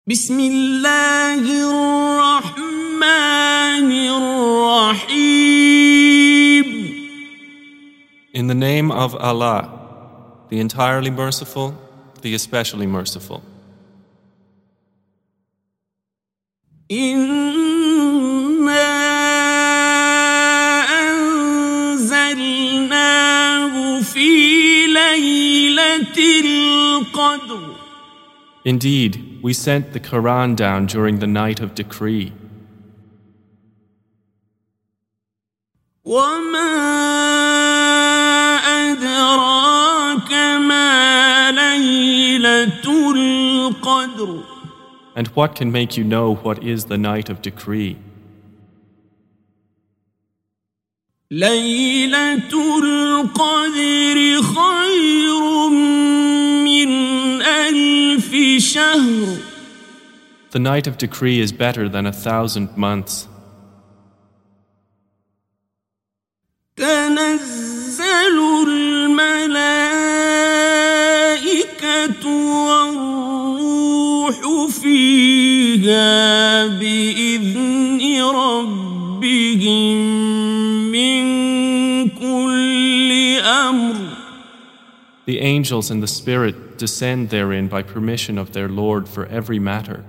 بسم الله الرحمن الرحيم. In the name of Allah, the entirely merciful, the especially merciful. إنا أنزلناه في ليلة القدر. Indeed, we sent the Quran down during the night of decree. وما أدراك ما ليلة القدر. And what can make you know what is the night of decree? ليلة القدر خير من ألف شهر. The night of decree is better than 1,000 months. تنزل الملائكة والروح فيها بإذن ربهم من كل أمر. The angels and the Spirit descend therein by permission of their Lord for every matter.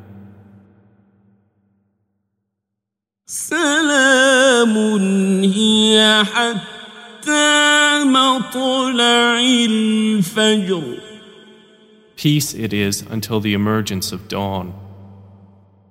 سلام هي حتى مطلع الفجر. Peace it is until the emergence of dawn.